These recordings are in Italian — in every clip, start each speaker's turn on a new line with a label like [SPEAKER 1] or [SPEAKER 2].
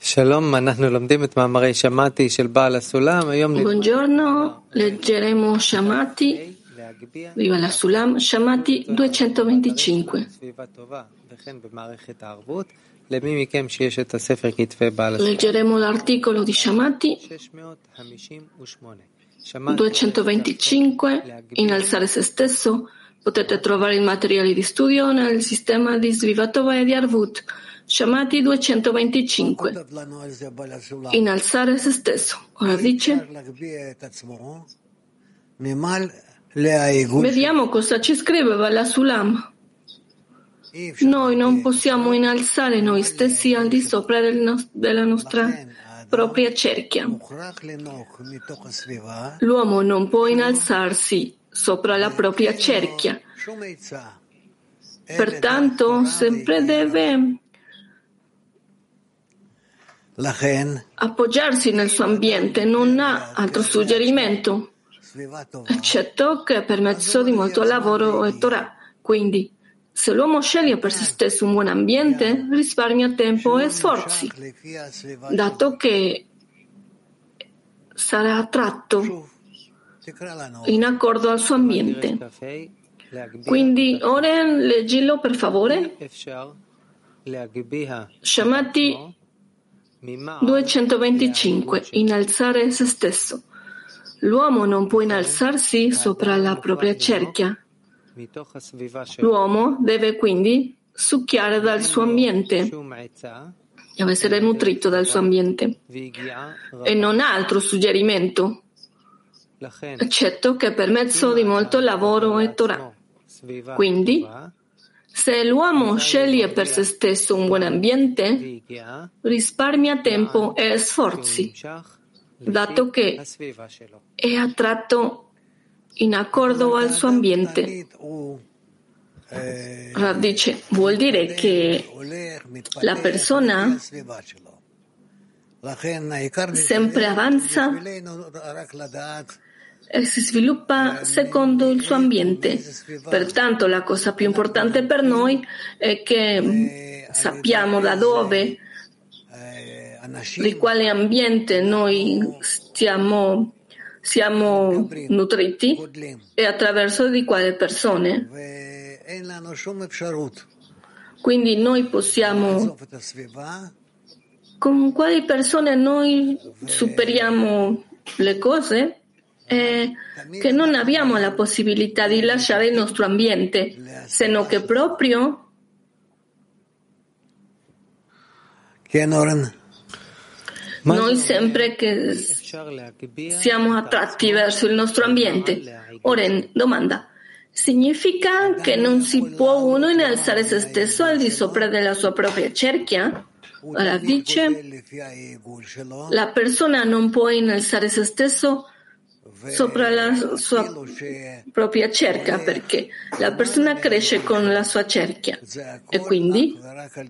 [SPEAKER 1] Buongiorno, leggeremo Shamati, viva la Sulam, Shamati 225. Leggeremo l'articolo di Shamati 225, innalzare se stesso. Potete trovare i materiali di studio nel sistema di Svivatova e di Arvut. Shamati 225. Innalzare se stesso. Ora dice: vediamo cosa ci scriveva la Sulam. Noi non possiamo innalzare noi stessi al di sopra della nostra propria cerchia. L'uomo non può innalzarsi sopra la propria cerchia. Pertanto sempre deve appoggiarsi nel suo ambiente, non ha altro suggerimento, eccetto che per mezzo di molto lavoro e Torah. Quindi, se l'uomo sceglie per se stesso un buon ambiente, risparmia tempo e sforzi, dato che sarà attratto in accordo al suo ambiente. Quindi, Oren, leggilo per favore. Shamati 225. Innalzare se stesso. L'uomo non può innalzarsi sopra la propria cerchia. L'uomo deve quindi succhiare dal suo ambiente, deve essere nutrito dal suo ambiente e non ha altro suggerimento, eccetto che per mezzo di molto lavoro e Torah. Quindi, se l'uomo sceglie per se stesso un buon ambiente, risparmia tempo e sforzi, dato che è attratto in accordo al suo ambiente. Dice, vuol dire che la persona sempre avanza e si sviluppa secondo il suo ambiente. Pertanto la cosa più importante per noi è che sappiamo da dove, di quale ambiente noi siamo nutriti e attraverso di quale persone. Quindi noi possiamo, con quali persone noi superiamo le cose, che non abbiamo la possibilità di lasciare il nostro ambiente, se non che proprio noi sempre che siamo attratti verso il nostro ambiente. Oren, domanda: significa che non si può uno innalzare se stesso al di sopra della sua propria cerchia? Ora dice, la persona non può innalzare se stesso sopra la sua propria cerchia perché la persona cresce con la sua cerchia e quindi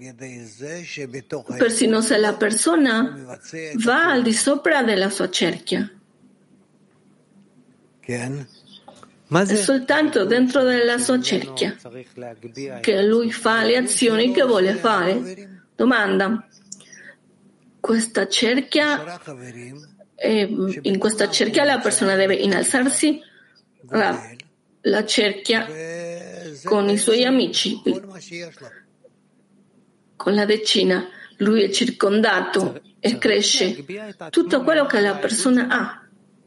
[SPEAKER 1] persino se la persona va al di sopra della sua cerchia è soltanto dentro della sua cerchia che lui fa le azioni che vuole fare. Domanda: questa cerchia, in questa cerchia la persona deve innalzarsi, la cerchia con i suoi amici, con la decina, lui è circondato e cresce tutto quello che la persona ha.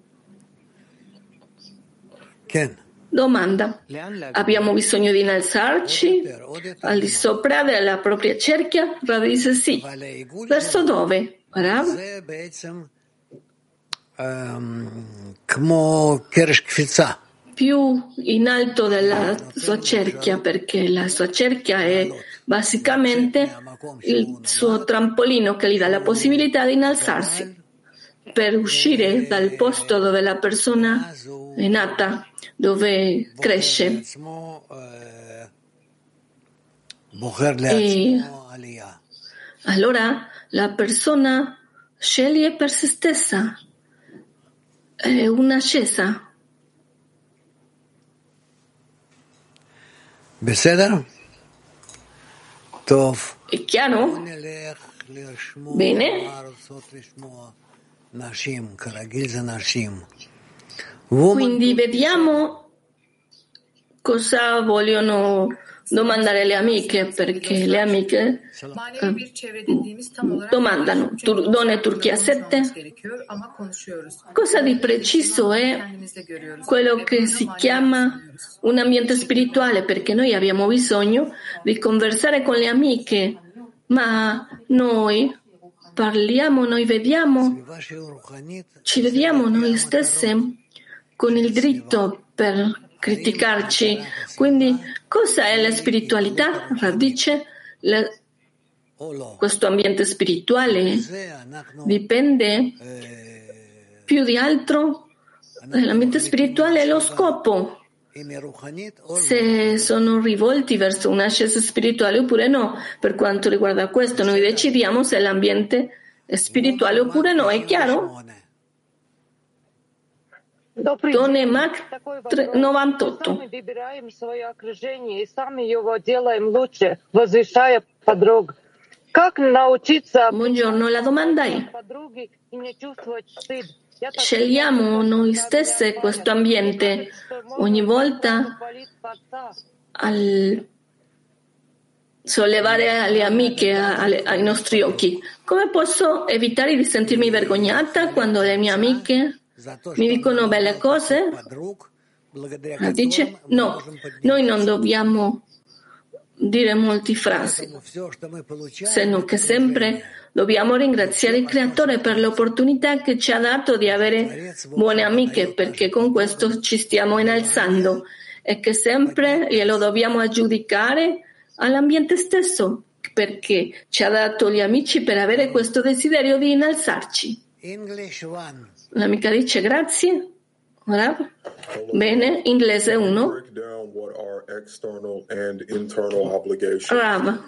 [SPEAKER 1] Domanda: abbiamo bisogno di innalzarci al di sopra della propria cerchia? Rav dice sì. Verso dove? Rav? Più in alto della sua cerchia, perché la sua cerchia è basicamente il suo trampolino che gli dà la possibilità di innalzarsi per uscire dal posto dove la persona è nata, dove cresce. E allora la persona sceglie per se stessa un'ascesa. È chiaro? Bene. Quindi vediamo cosa vogliono domandare le amiche, perché le amiche domandano, Donne Turchia 7, cosa di preciso è quello che si chiama un ambiente spirituale, perché noi abbiamo bisogno di conversare con le amiche, ma noi parliamo, noi vediamo, ci vediamo noi stesse con il diritto per criticarci. Quindi, cosa è la spiritualità? Radice, questo ambiente spirituale dipende più di altro. L'ambiente spirituale è lo scopo. Se sono rivolti verso un'ascesa spirituale oppure no. Per quanto riguarda questo, noi decidiamo se l'ambiente è spirituale oppure no. È chiaro? Donne Mac 98. Buongiorno, la domanda è: scegliamo noi stesse questo ambiente ogni volta al sollevare le amiche ai nostri occhi? Come posso evitare di sentirmi vergognata quando le mie amiche mi dicono belle cose? Dice no, noi non dobbiamo dire molte frasi, se non che sempre dobbiamo ringraziare il Creatore per l'opportunità che ci ha dato di avere buone amiche, perché con questo ci stiamo innalzando, e che sempre glielo dobbiamo aggiudicare all'ambiente stesso, perché ci ha dato gli amici per avere questo desiderio di innalzarci. L'amica dice grazie. Bene, inglese 1. Rav,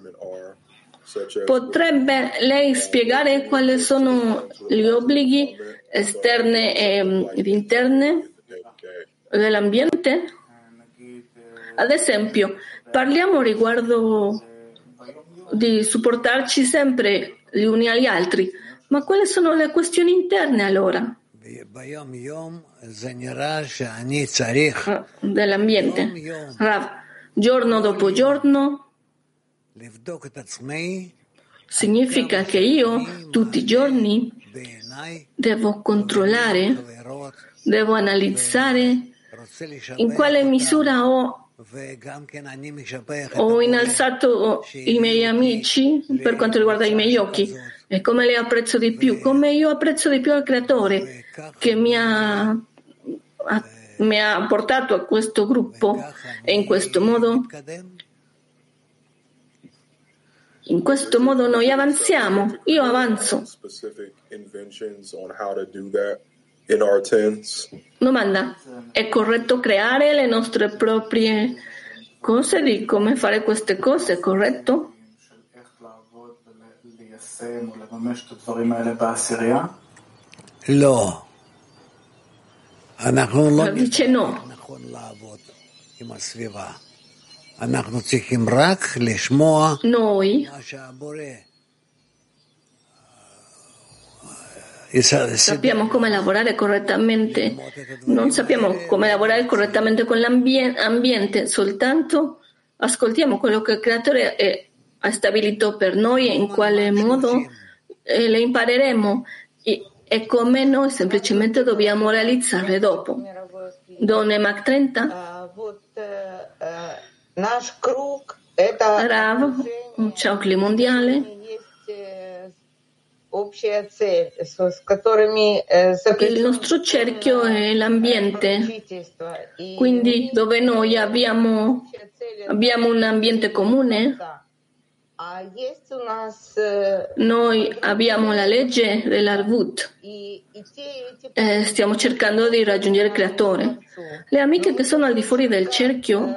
[SPEAKER 1] potrebbe lei spiegare quali sono gli obblighi esterni ed interni dell'ambiente? Ad esempio, parliamo riguardo di supportarci sempre gli uni agli altri, ma quali sono le questioni interne allora? Dell'ambiente. Rav, giorno dopo giorno significa che io tutti i giorni devo controllare, devo analizzare in quale misura ho innalzato i miei amici per quanto riguarda i miei occhi e come li apprezzo di più, come io apprezzo di più al Creatore che mi ha portato a questo gruppo, e in questo modo noi avanziamo, io avanzo. Domanda: è corretto creare le nostre proprie cose di come fare queste cose, è corretto? Dice no. Noi sappiamo come lavorare correttamente, non sappiamo come lavorare correttamente con l'ambiente, soltanto ascoltiamo quello che il Creatore ha stabilito per noi e in quale modo le impareremo e come noi semplicemente dobbiamo realizzarle dopo. Donne Mac 30. Rav, un ciocli mondiale. Il nostro cerchio è l'ambiente, quindi dove noi abbiamo un ambiente comune, noi abbiamo la legge dell'Arvut, stiamo cercando di raggiungere il Creatore. Le amiche che sono al di fuori del cerchio,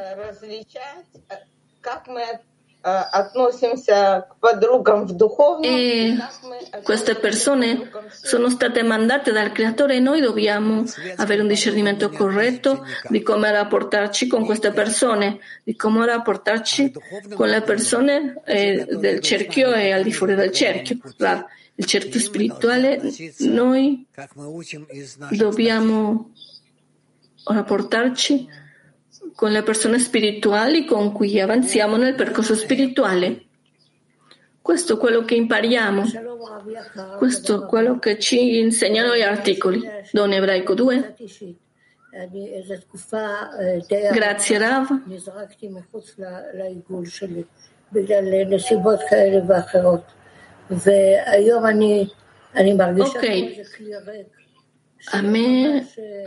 [SPEAKER 1] e queste persone sono state mandate dal Creatore e noi dobbiamo avere un discernimento corretto di come rapportarci con queste persone, di come rapportarci con le persone del cerchio e al di fuori del cerchio. Il cerchio spirituale, noi dobbiamo rapportarci con le persone spirituali con cui avanziamo nel percorso spirituale. Questo è quello che impariamo, questo è quello che ci insegnano gli articoli. Don Ebraico 2. Grazie Rav. Ok, a me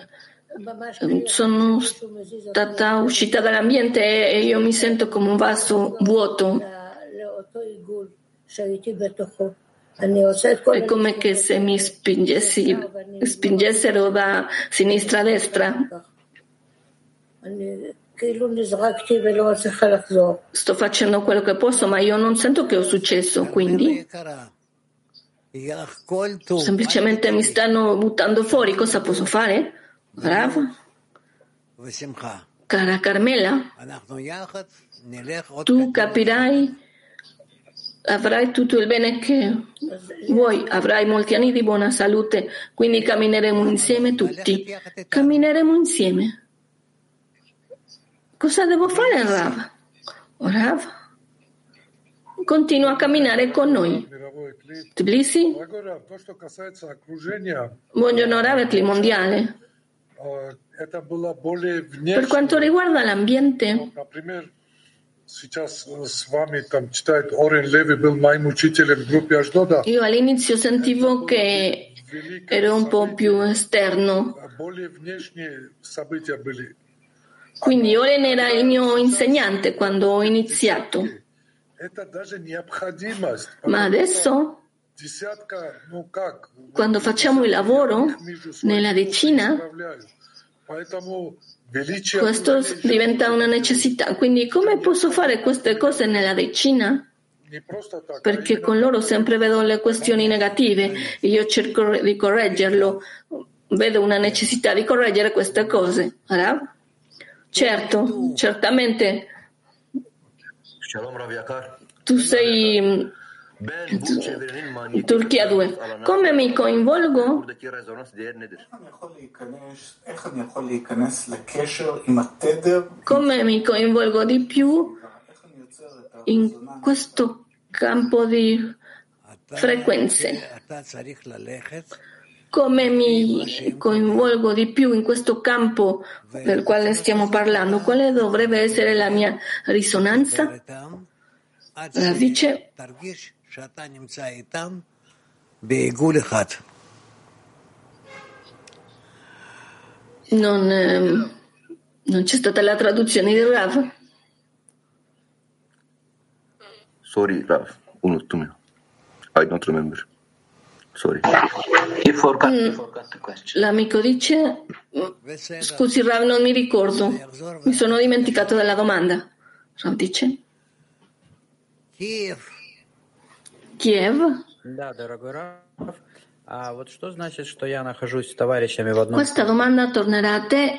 [SPEAKER 1] sono stata uscita dall'ambiente e io mi sento come un vaso vuoto. È come che se mi spingessero da sinistra a destra. Sto facendo quello che posso, ma io non sento che ho successo, quindi semplicemente mi stanno buttando fuori. Cosa posso fare? Bravo. Cara Carmela, tu capirai, avrai tutto il bene che vuoi, avrai molti anni di buona salute, quindi cammineremo insieme tutti. Cammineremo insieme. Cosa devo fare, Rav? Rav? Continua a camminare con noi. Tbilisi? Buongiorno Rav, Etli Mondiale. Per quanto riguarda l'ambiente, io all'inizio sentivo che ero un po' più esterno. Quindi Oren era il mio insegnante quando ho iniziato. Ma adesso, quando facciamo il lavoro nella decina, questo diventa una necessità. Quindi come posso fare queste cose nella decina? Perché con loro sempre vedo le questioni negative e io cerco di correggerlo. Vedo una necessità di correggere queste cose. Certo, certamente. Tu sei in Turchia 2. Come mi coinvolgo? Come mi coinvolgo di più in questo campo di frequenze? Come mi coinvolgo di più in questo campo del quale stiamo parlando? Quale dovrebbe essere la mia risonanza? Dice, non c'è stata la traduzione di Rav.
[SPEAKER 2] Sorry, Rav, unuttum ya. I don't remember. Sorry.
[SPEAKER 1] L'amico dice, scusi Rav, non mi ricordo, mi sono dimenticato della domanda. Rav dice, Kiev? Questa domanda tornerà a te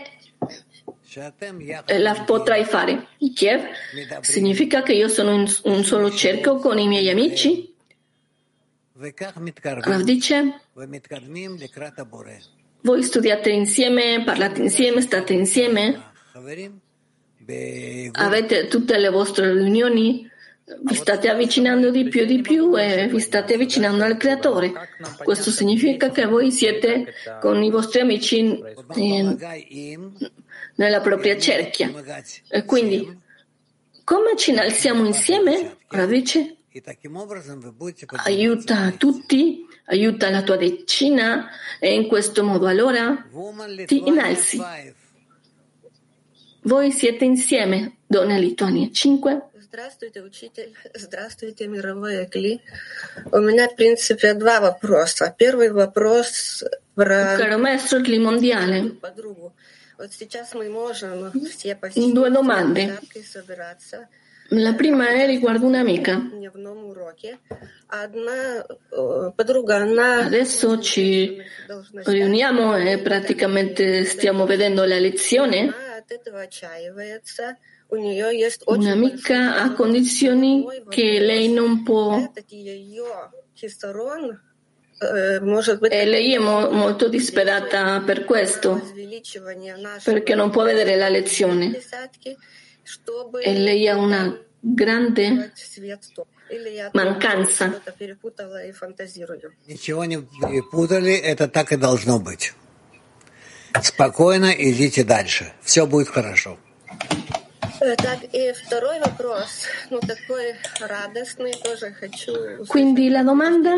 [SPEAKER 1] e la potrai fare. Kiev significa che io sono in un solo cerchio con i miei amici? Rav dice, voi studiate insieme, parlate insieme, state insieme, avete tutte le vostre riunioni, vi state avvicinando di più e vi state avvicinando al Creatore. Questo significa che voi siete con i vostri amici nella propria cerchia. E quindi, come ci innalziamo insieme? Rav dice, aiuta tutti, aiuta la tua decina e in questo modo allora ti innalzi. Voi siete insieme, Donne Lituania 5.
[SPEAKER 3] Здравствуйте, учитель. Здравствуйте, мировой Экли. У меня, в принципе, два вопроса. Первый вопрос про
[SPEAKER 1] Caro maestro Ekli mondiale,
[SPEAKER 3] подругу. Вот сейчас мы можем все посидеть,
[SPEAKER 1] due domande.
[SPEAKER 3] собираться.
[SPEAKER 1] La prima è riguardo un'amica. Adesso ci riuniamo e praticamente stiamo vedendo la lezione. Un'amica ha condizioni che lei non può, e lei è molto disperata per questo, perché non può vedere la lezione. E lei ha una grande mancanza.
[SPEAKER 4] Ничего не перепутали, это так и должно быть. Спокойно идите дальше. Все будет хорошо.
[SPEAKER 1] Quindi la domanda?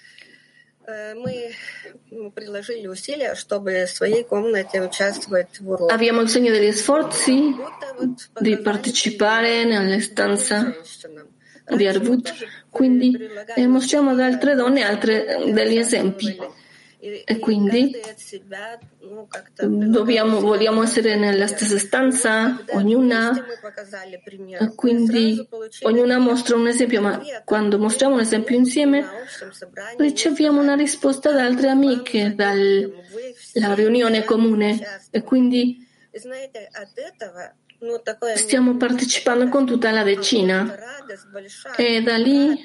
[SPEAKER 1] Abbiamo bisogno degli sforzi di partecipare nella stanza di Arvut, quindi mostriamo ad altre donne degli esempi. E quindi vogliamo essere nella stessa stanza, ognuna, e quindi ognuna mostra un esempio, ma quando mostriamo un esempio insieme riceviamo una risposta da altre amiche, dalla riunione comune, e quindi stiamo partecipando con tutta la decina, e da lì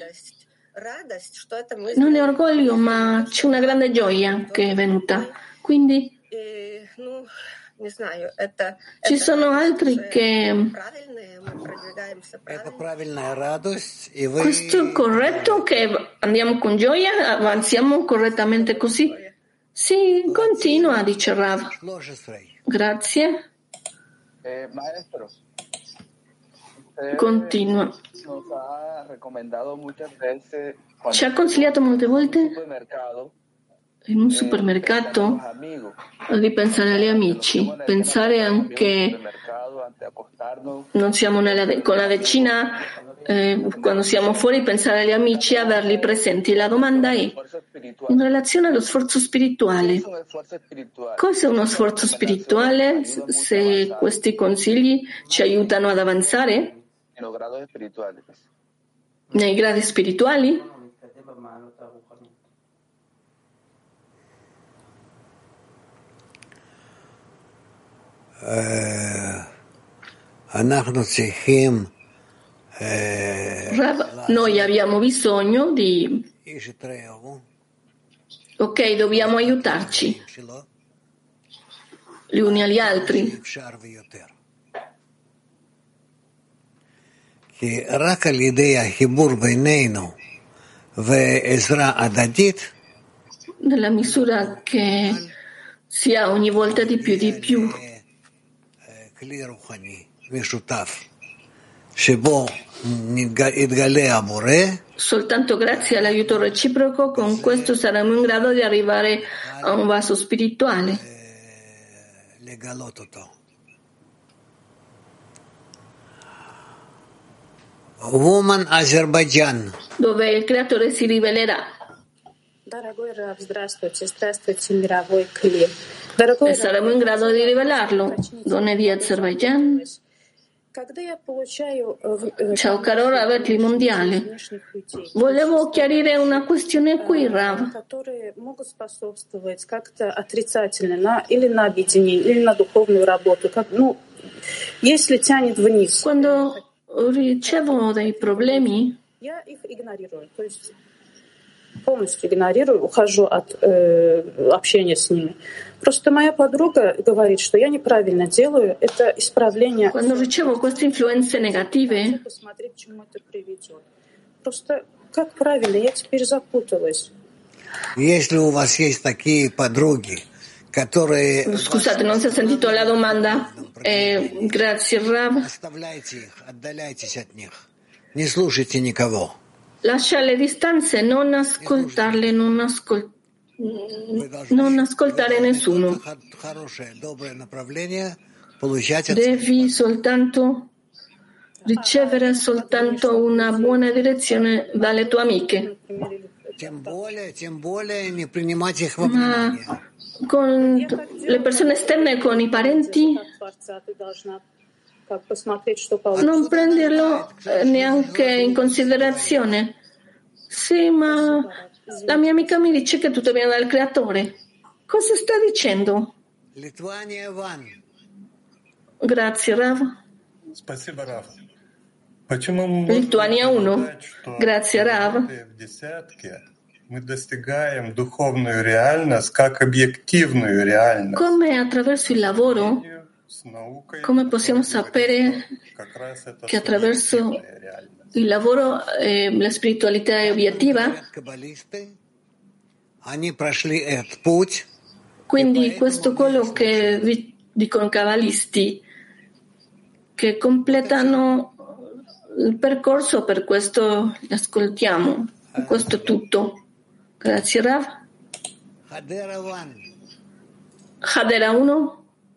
[SPEAKER 1] non è orgoglio, ma c'è una grande gioia che è venuta. Quindi ci sono altri che questo è corretto, che andiamo con gioia, avanziamo correttamente così? Sì, continua, dice Rav. Grazie. Continua. Ci ha consigliato molte volte in un supermercato di pensare agli amici, pensare anche, non siamo con la decina, quando siamo fuori, pensare agli amici e averli presenti. La domanda è in relazione allo sforzo spirituale. Cos'è uno sforzo spirituale? Se questi consigli ci aiutano ad avanzare nei gradi spirituali? Noi abbiamo bisogno di... Ok, dobbiamo aiutarci gli uni agli altri. Nella misura che si ha ogni volta di più. Soltanto grazie all'aiuto reciproco, con questo saremo in grado di arrivare a un vaso spirituale.
[SPEAKER 4] Woman Azerbaijan,
[SPEAKER 1] dove il creatore si rivelerà. E saremo in grado di rivelarlo. Donne di Azerbaijan. Ciao caro Rav mondiale. Volevo chiarire una questione qui, Rav. Quando ricevo dei problemi,
[SPEAKER 5] полностью игнорирую, ухожу от общения с ними. Просто моя подруга говорит, что я неправильно делаю, это исправление.
[SPEAKER 1] Quando ricevo queste influenze negative,
[SPEAKER 5] посмотри, к чему это приведет. Просто как правильно, я теперь запуталась.
[SPEAKER 4] Если у вас есть такие подруги, которые...
[SPEAKER 1] Scusate, non si è sentito la domanda. Grazie, Rav.
[SPEAKER 4] Оставляйте их, отдаляйтесь от них. Не слушайте никого.
[SPEAKER 1] Lascia le distanze, non ascoltarle, non ascoltare nessuno. Devi soltanto ricevere soltanto una buona direzione dalle tue amiche. Ma con le persone esterne, con i parenti, Non prenderlo neanche in considerazione. Sì, ma la mia amica mi dice che tutto viene dal creatore. Cosa sta dicendo? Grazie, Rav. Lituania 1. Grazie, Rav. Come attraverso il lavoro, come possiamo sapere che attraverso il lavoro la spiritualità è obiettiva? Quindi questo è quello che dicono i cabalisti, che completano il percorso, per questo li ascoltiamo. Questo è tutto. Grazie, Rav. Hadera 1.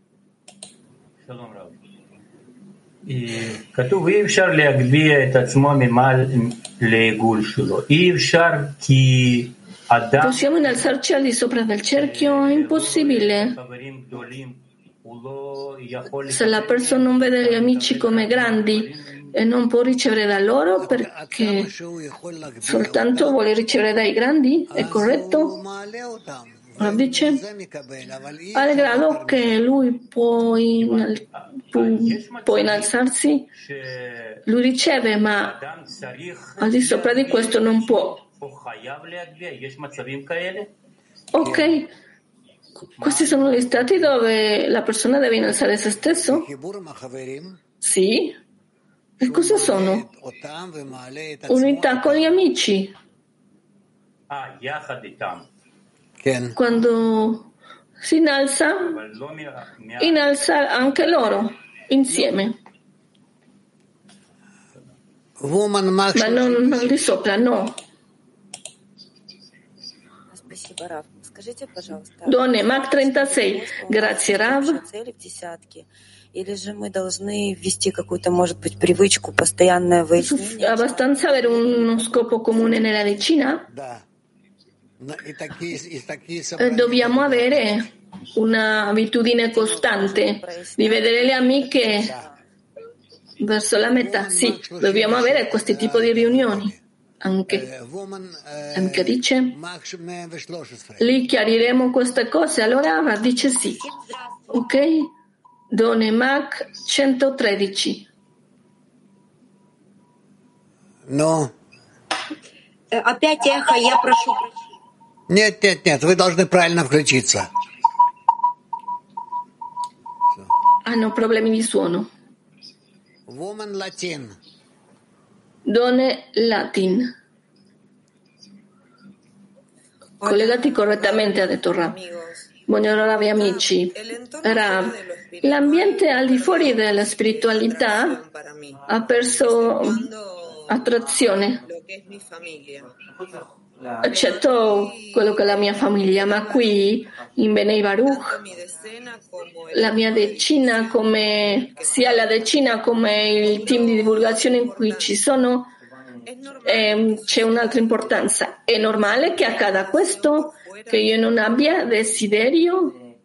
[SPEAKER 6] כתוב אי אפשר להגביה את עצמו ממעל לעיגול שלו. אי אפשר כי אדם...
[SPEAKER 1] Possiamo innalzarci al di sopra del cerchio? È impossibile. Se la persona non vede gli amici come grandi e non può ricevere da loro perché soltanto vuole ricevere dai grandi, è corretto? Dice al grado che lui può innalzarsi, lui riceve, ma al di sopra di questo non può. Ok, questi sono gli stati dove la persona deve innalzare se stesso? Sì. E cosa sono? Unità con gli amici. Quando si innalza anche loro insieme. Ma non di sopra, no. Donne, Mac 36. Grazie, Rav. Abbastanza avere uno scopo comune nella decina? Dobbiamo avere un'abitudine costante di vedere le amiche verso la metà. Sì, dobbiamo avere questo tipo di riunioni. Anche dice, lì chiariremo queste cose. Allora dice sì. Ok? Donne Mac 113.
[SPEAKER 4] No.
[SPEAKER 3] Опять эхо, я прошу.
[SPEAKER 4] Нет, вы должны правильно включиться.
[SPEAKER 1] Hanno problemi di suono.
[SPEAKER 4] Woman Latin.
[SPEAKER 1] Donne Latin. Collegati correttamente, ha detto Rav. Buongiorno Rav e amici. Rav, l'ambiente al di fuori della spiritualità ha perso attrazione. Accetto quello che è la mia famiglia, ma qui in Bnei Baruch la mia decina, come sia la decina come il team di divulgazione in cui ci sono, c'è un'altra importanza. È normale che accada questo, che io non abbia desiderio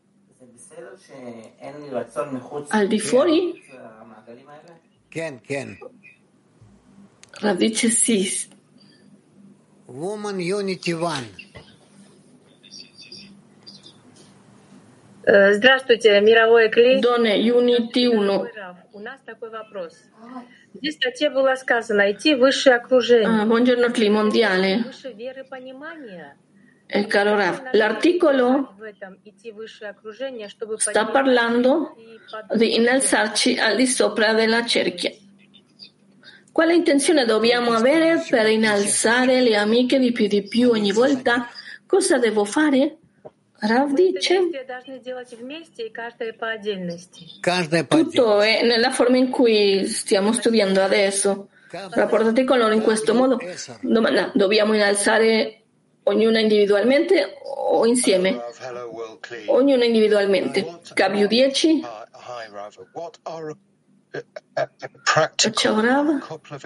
[SPEAKER 1] al di fuori? Rav dice sì.
[SPEAKER 4] Woman Unity One.
[SPEAKER 5] Здравствуйте, мировой клей.
[SPEAKER 1] Donne Unity 1.
[SPEAKER 5] У нас такой вопрос. Здесь в статье было сказано идти в высшее окружение.
[SPEAKER 1] Buongiorno Cli mondiale.
[SPEAKER 5] Выше веры понимания.
[SPEAKER 1] Caro Rav, l'articolo sta parlando di innalzarci al di sopra della cerchia. Quale intenzione dobbiamo avere per innalzare le amiche di più ogni volta? Cosa devo fare? Rav dice tutto è nella forma in cui stiamo studiando adesso. Rapportati con loro in questo modo. Domanda, dobbiamo innalzare ognuna individualmente o insieme? Ognuna individualmente. KW10. Ciao Rav.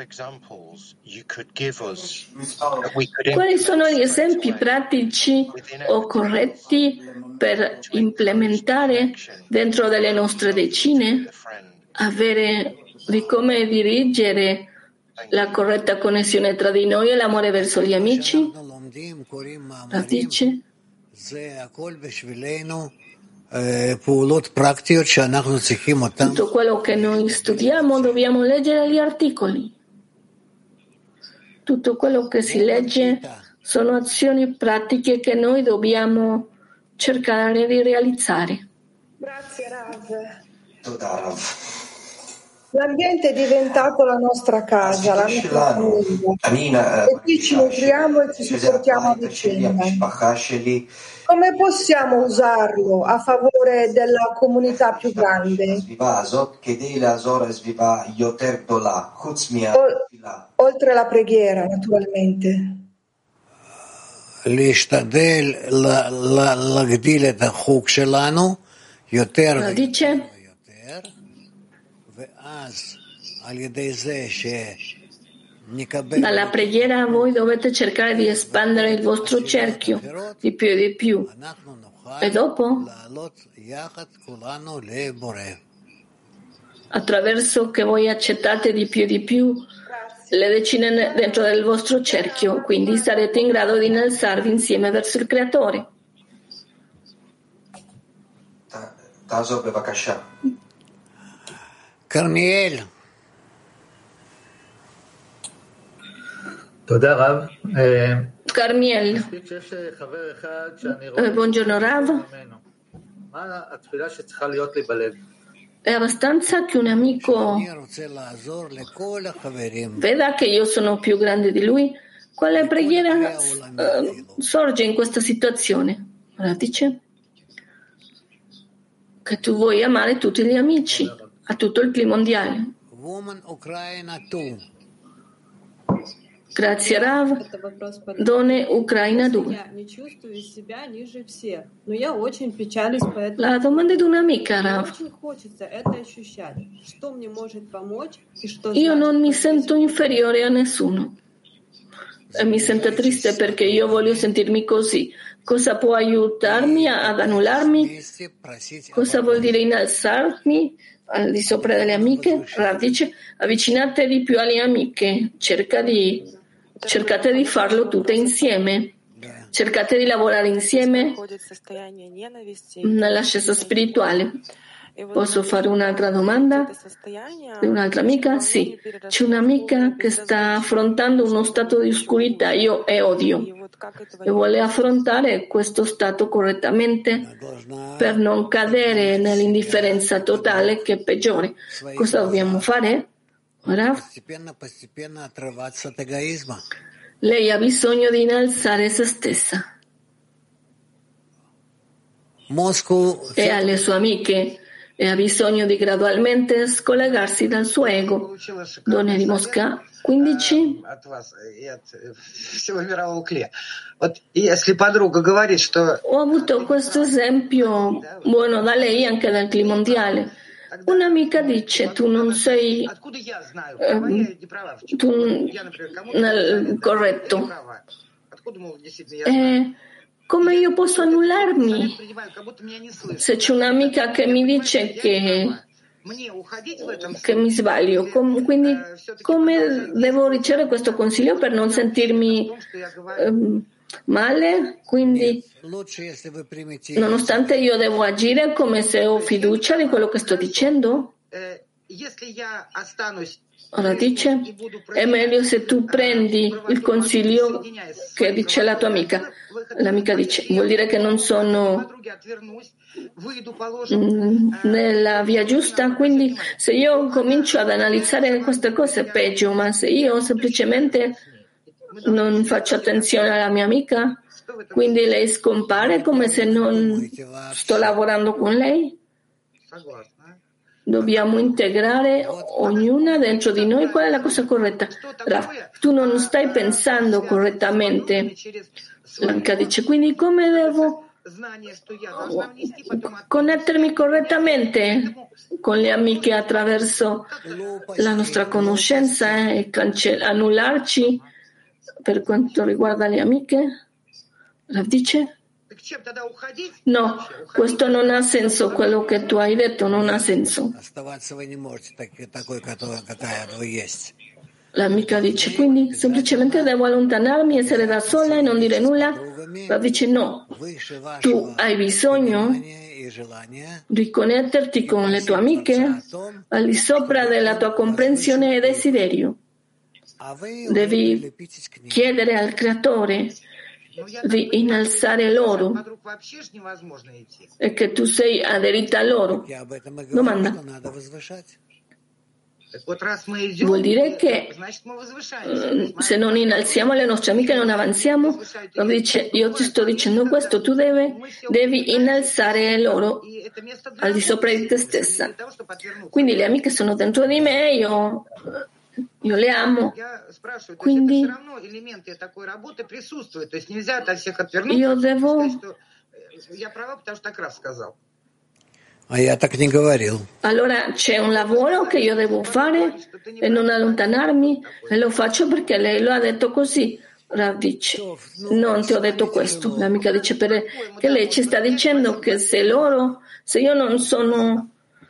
[SPEAKER 1] Quali sono gli esempi pratici o corretti per implementare dentro delle nostre decine di come dirigere la corretta connessione tra di noi e l'amore verso gli amici. Radice. Tutto quello che noi studiamo dobbiamo leggere gli articoli. Tutto quello che si legge sono azioni pratiche che noi dobbiamo cercare di realizzare.
[SPEAKER 3] Grazie Rav. L'ambiente è diventato la nostra casa, la nostra famiglia. E qui ci nutriamo e ci supportiamo a vicenda. Come possiamo usarlo a favore della comunità più grande? Oltre alla preghiera, naturalmente.
[SPEAKER 1] Dice, dalla preghiera voi dovete cercare di espandere il vostro cerchio di più e di più. E dopo, attraverso che voi accettate di più e di più le decine dentro del vostro cerchio, quindi sarete in grado di innalzarvi insieme verso il Creatore.
[SPEAKER 4] Carmiel.
[SPEAKER 1] Carmiel. Buongiorno Rav. È abbastanza che un amico veda che io sono più grande di lui. Quale preghiera sorge in questa situazione? Allora dice che tu vuoi amare tutti gli amici, a tutto il clima mondiale. Grazie Rav. Donne Ucraina 2. La domanda è di un'amica, Rav. Io non mi sento inferiore a nessuno e mi sento triste perché io voglio sentirmi così. Cosa può aiutarmi ad annullarmi? Cosa vuol dire innalzarmi al di sopra delle amiche? Rav dice, avvicinate di più alle amiche, cercate di farlo tutte insieme, cercate di lavorare insieme nell'ascesa spirituale. Posso fare un'altra domanda? Di un'altra amica? Sì, c'è un'amica che sta affrontando uno stato di oscurità e odio e vuole affrontare questo stato correttamente per non cadere nell'indifferenza totale che è peggiore. Cosa dobbiamo fare? Ora, lei ha bisogno di innalzare se stessa e alle sue amiche e ha bisogno di gradualmente scollegarsi dal suo ego. Donne di Mosca 15. Ho avuto questo esempio buono da lei anche dal clima mondiale. Un'amica dice tu non sei corretto. Come io posso annullarmi se c'è un'amica che mi dice che mi sbaglio? Quindi come devo ricevere questo consiglio per non sentirmi male? Quindi nonostante io devo agire come se ho fiducia di quello che sto dicendo? Ora dice, è meglio se tu prendi il consiglio che dice la tua amica. L'amica dice, vuol dire che non sono nella via giusta? Quindi se io comincio ad analizzare queste cose è peggio, ma se io semplicemente non faccio attenzione alla mia amica, quindi lei scompare come se non sto lavorando con lei? Dobbiamo integrare ognuna dentro di noi qual è la cosa corretta. Tu non stai pensando correttamente. L'amica dice, quindi come devo connettermi correttamente con le amiche attraverso la nostra conoscenza e annullarci per quanto riguarda le amiche? Rav dice, No, questo non ha senso, quello che tu hai detto non ha senso. L'amica dice, quindi semplicemente devo allontanarmi, essere da sola e non dire nulla? Rav dice, no, tu hai bisogno di connetterti con le tue amiche al di sopra della tua comprensione e desiderio. Devi chiedere al Creatore di innalzare loro e che tu sei aderita a loro. Domanda. Vuol dire che se non innalziamo le nostre amiche non avanziamo? Dice, io ti sto dicendo questo, tu devi innalzare loro al di sopra di te stessa. Quindi le amiche sono dentro di me, io le amo, quindi io devo. Allora c'è un lavoro che io devo fare e non allontanarmi, e lo faccio perché lei lo ha detto così. Rav dice, non ti ho detto questo. L'amica dice, perché lei ci sta dicendo che se io non sono,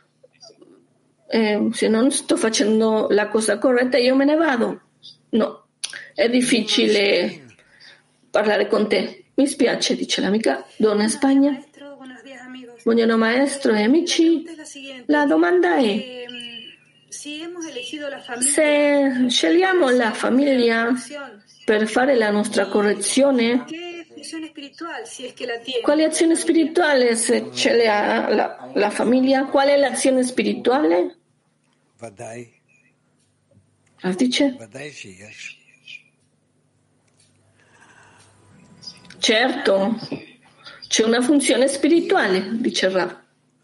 [SPEAKER 1] se non sto facendo la cosa corretta, io me ne vado. No, è difficile parlare con te. Mi spiace, dice l'amica, donna in Spagna. Buongiorno maestro e amici, la domanda è: se scegliamo la famiglia per fare la nostra correzione, quale azione spirituale, se ce l'ha la famiglia, qual è l'azione spirituale? Dice? Certo. C'è una funzione spirituale, dice Rav.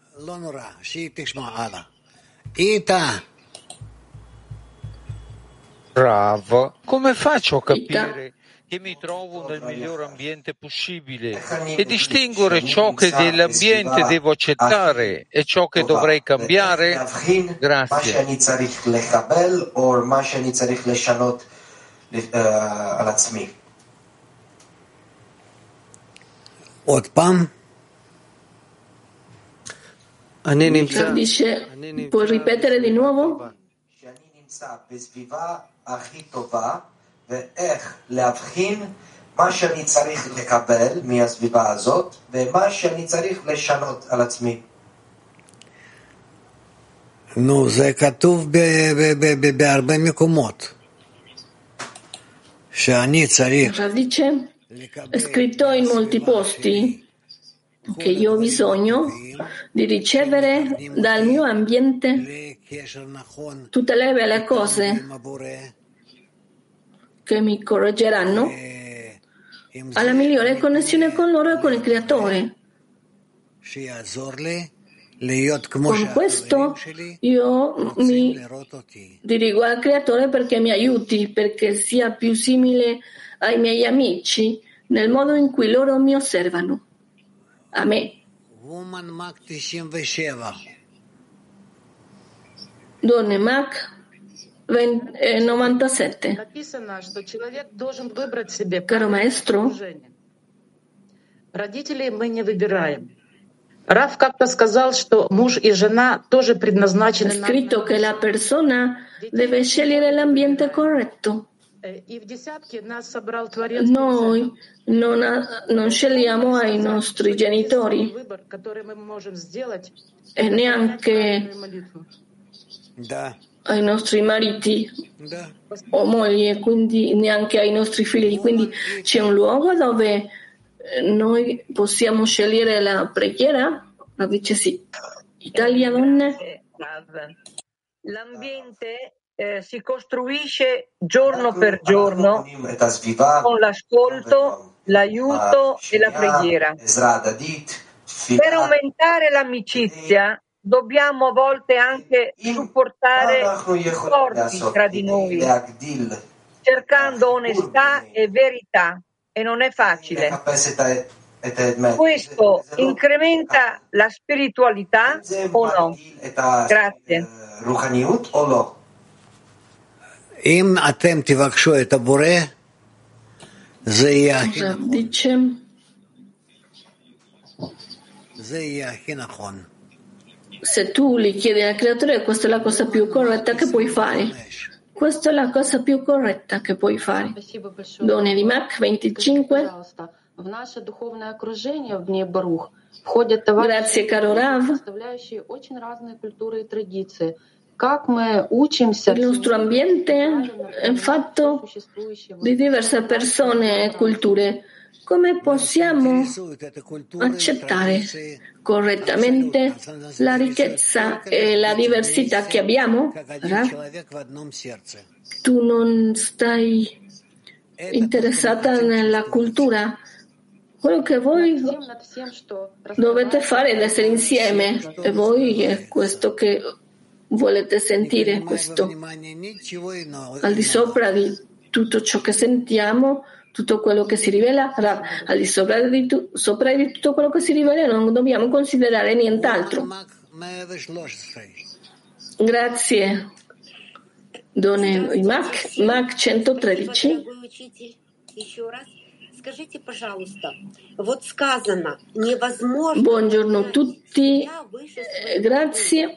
[SPEAKER 7] Rav, come faccio a capire che mi trovo nel miglior ambiente possibile e distinguere ciò che dell'ambiente devo accettare e ciò che dovrei cambiare? Grazie.
[SPEAKER 1] Dice, puoi ripetere di nuovo?
[SPEAKER 4] זה כתוב בהרבה מקומות. שאני צריך.
[SPEAKER 1] Dice, è scritto in molti posti che io ho bisogno di ricevere dal mio ambiente tutte le belle cose che mi correggeranno alla migliore connessione con loro e con il Creatore. Con questo io mi dirigo al Creatore perché mi aiuti, perché sia più simile ai miei amici nel modo in cui loro mi osservano. A me. Donne Mac 97. Caro maestro,
[SPEAKER 8] родителей мы не выбираем. Рав как-то сказал, что муж и жена тоже предназначены.
[SPEAKER 1] È scritto che la persona deve scegliere l'ambiente corretto. Noi non scegliamo ai nostri genitori e neanche ai nostri mariti o mogli, quindi neanche ai nostri figli. Quindi c'è un luogo dove noi possiamo scegliere la preghiera? La dice sì. Italia, donne?
[SPEAKER 9] L'ambiente si costruisce giorno per giorno con l'ascolto, l'aiuto e la preghiera. Per aumentare l'amicizia dobbiamo a volte anche supportare i rapporti tra di noi, cercando onestà e verità, e non è facile. Questo incrementa la spiritualità o no? Grazie.
[SPEAKER 4] אם אתם תבקשו את הבורא, זה יהיה...
[SPEAKER 1] Dice, Se tu li chiedi al creatore, questa è la cosa più corretta che puoi fare. Questa è la cosa più corretta che puoi fare. Donne di Mac 25. Grazie caro Rav. Il nostro ambiente è fatto di diverse persone e culture. Come possiamo accettare correttamente la ricchezza e la diversità che abbiamo? Rav? Tu non stai interessata nella cultura? Quello che voi dovete fare è essere insieme, e voi è questo che volete sentire, questo al di sopra di tutto ciò che sentiamo, tutto quello che si rivela, al di sopra di tutto quello che si rivela non dobbiamo considerare nient'altro. Grazie. Donne Mac 113. Buongiorno a tutti, grazie.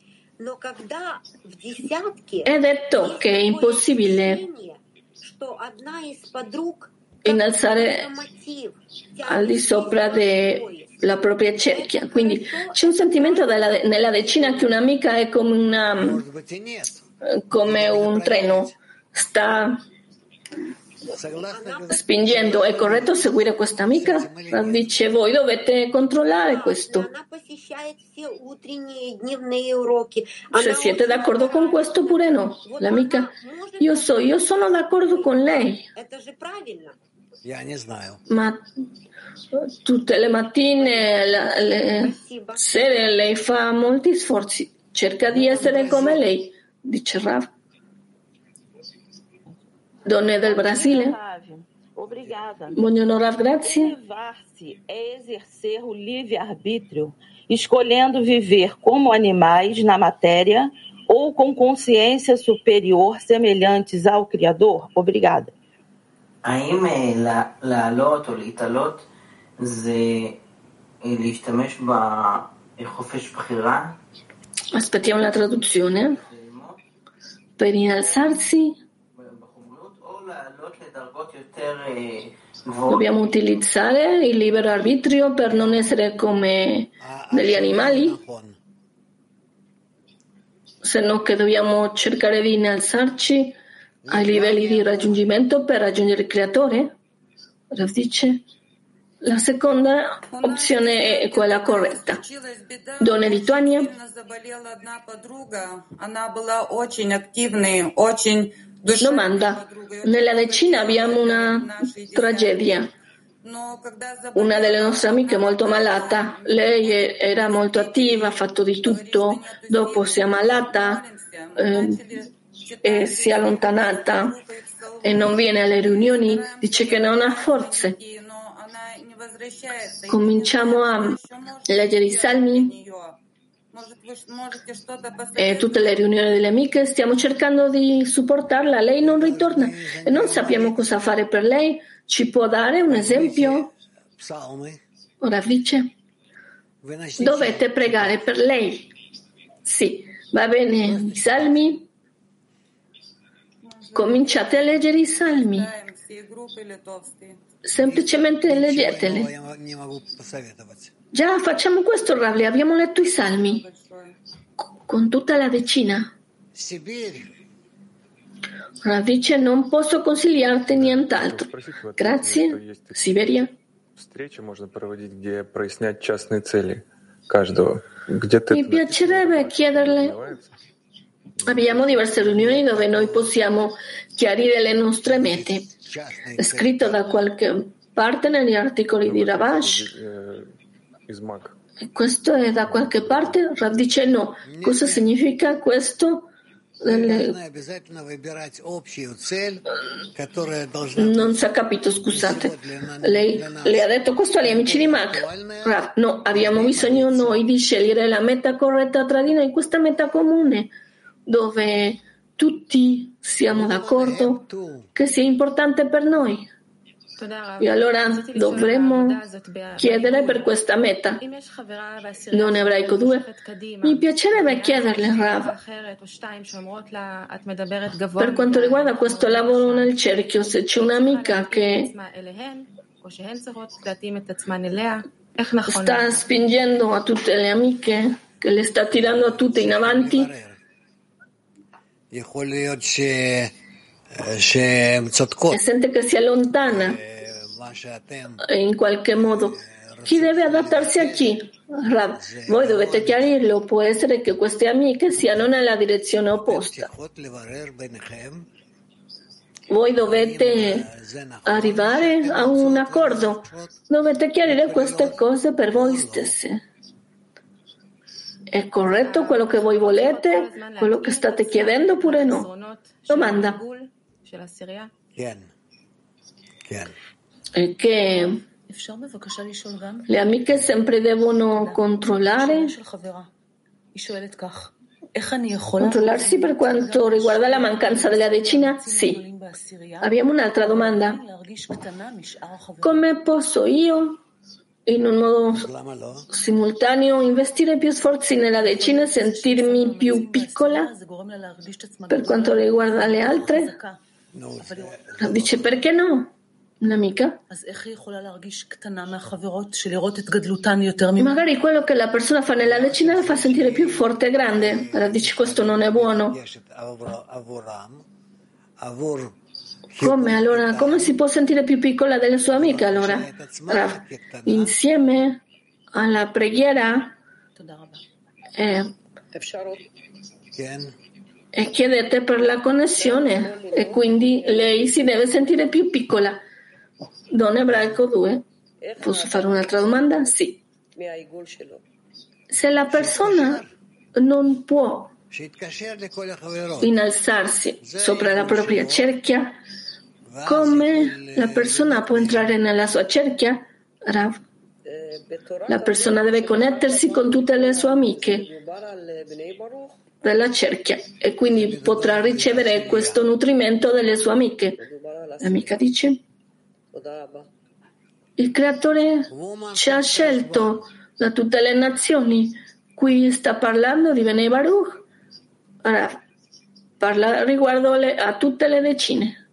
[SPEAKER 1] È detto che è impossibile innalzare al di sopra della propria cerchia. Quindi c'è un sentimento nella decina che un'amica è come un treno, sta spingendo. È corretto seguire questa amica? Dice, voi dovete controllare questo. Se siete d'accordo con questo oppure no. L'amica, io sono d'accordo con lei. Ma tutte le mattine, le sere, lei fa molti sforzi. Cerca di essere come lei, dice Rav. Donne del Brasile. Buongiorno Rav, grazie.
[SPEAKER 10] Elevar-se é exercer o livre-arbítrio, escolhendo viver como animais na matéria ou com consciência superior semelhantes ao Criador? Obrigada.
[SPEAKER 11] האם לעלות או להתעלות זה להשתמש בחופש בחירה?
[SPEAKER 1] Aspettiamo la traduzione. Per innalzarsi dobbiamo utilizzare il libero arbitrio per non essere come degli animali, se no che dobbiamo cercare di innalzarci ai livelli di raggiungimento per raggiungere il creatore? Rav dice, la seconda opzione è quella corretta. Donne di Lituania. Domanda. Nella decina abbiamo una tragedia. Una delle nostre amiche è molto malata. Lei era molto attiva, ha fatto di tutto. Dopo si è ammalata e si è allontanata e non viene alle riunioni. Dice che non ha forze. Cominciamo a leggere i salmi e tutte le riunioni delle amiche stiamo cercando di supportarla. Lei non ritorna e non sappiamo cosa fare per lei. Ci può dare un esempio? Ora dice, dovete pregare per lei. Sì, va bene, i salmi. Cominciate a leggere i salmi. Semplicemente leggeteli. Già facciamo questo, Rav, abbiamo letto i salmi con tutta la decina. Rav dice, non posso consigliarti nient'altro. Grazie. Siberia. Mi piacerebbe chiederle. Abbiamo diverse riunioni dove noi possiamo chiarire le nostre mete. È scritto da qualche parte negli articoli di Ravash. E questo è da qualche parte? Rav dice no. Cosa significa questo? Non si è capito, scusate. Lei ha detto questo agli amici di Mac. Rav, no, abbiamo bisogno noi di scegliere la meta corretta tra di noi, questa meta comune, dove tutti siamo d'accordo che sia importante per noi. E allora dovremmo chiedere per questa meta. Non ebraico 2. Mi piacerebbe chiederle, Rav, per quanto riguarda questo lavoro nel cerchio, se c'è un'amica che sta spingendo a tutte le amiche, che le sta tirando a tutte in avanti, e sente che si allontana in qualche modo. Chi deve adattarsi a chi? Rav, voi dovete chiarirlo. Può essere che queste amiche siano nella direzione opposta. Voi dovete arrivare a un accordo. Dovete chiarire queste cose per voi stesse. È corretto quello che voi volete? Quello che state chiedendo oppure no? Domanda. È che le amiche sempre devono controllarsi per quanto riguarda la mancanza della decina? Sì. Abbiamo un'altra domanda. Come posso io, in un modo simultaneo, investire più sforzi nella decina e sentirmi più piccola per quanto riguarda le altre? Dice, perché no? Un'amica? Magari quello che la persona fa nella decina la fa sentire più forte e grande. Allora dice, questo non è buono. Come allora? Come si può sentire più piccola delle sue amiche allora? Insieme alla preghiera e chiedete per la connessione e quindi lei si deve sentire più piccola. Don Ebraico 2. Posso fare un'altra domanda? Sì. Se la persona non può innalzarsi sopra la propria cerchia, come la persona può entrare nella sua cerchia? Rav, la persona deve connettersi con tutte le sue amiche della cerchia e quindi potrà ricevere questo nutrimento delle sue amiche. L'amica dice: il creatore ci ha scelto da tutte le nazioni. Qui sta parlando di Bnei Baruch. Ora, parla riguardo a tutte le decine.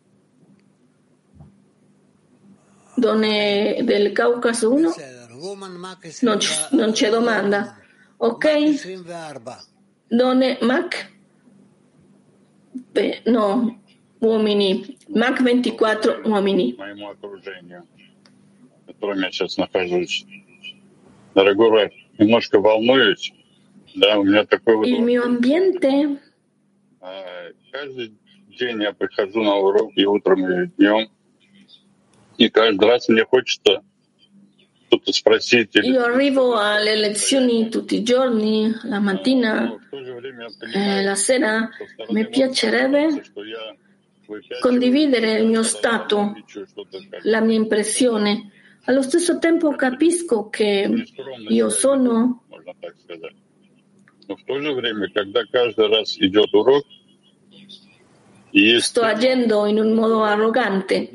[SPEAKER 1] Donne del Caucaso 1? Non c'è domanda. Ok? Donne Mac? No, uomini. Mac 24 uomini.
[SPEAKER 12] Котором я сейчас нахожусь. Дорогой Рэб, немножко волнуюсь. Да, у меня такой вот...
[SPEAKER 1] Il mio ambiente.
[SPEAKER 12] Каждый день я прихожу на урок и утром, и днем. И каждый раз мне хочется что-то спросить.
[SPEAKER 1] Io arrivo alle lezioni tutti i giorni, la mattina e la sera. Mi piacerebbe condividere il mio stato, la mia impressione. Allo stesso tempo capisco che io sono sto agendo in un modo arrogante,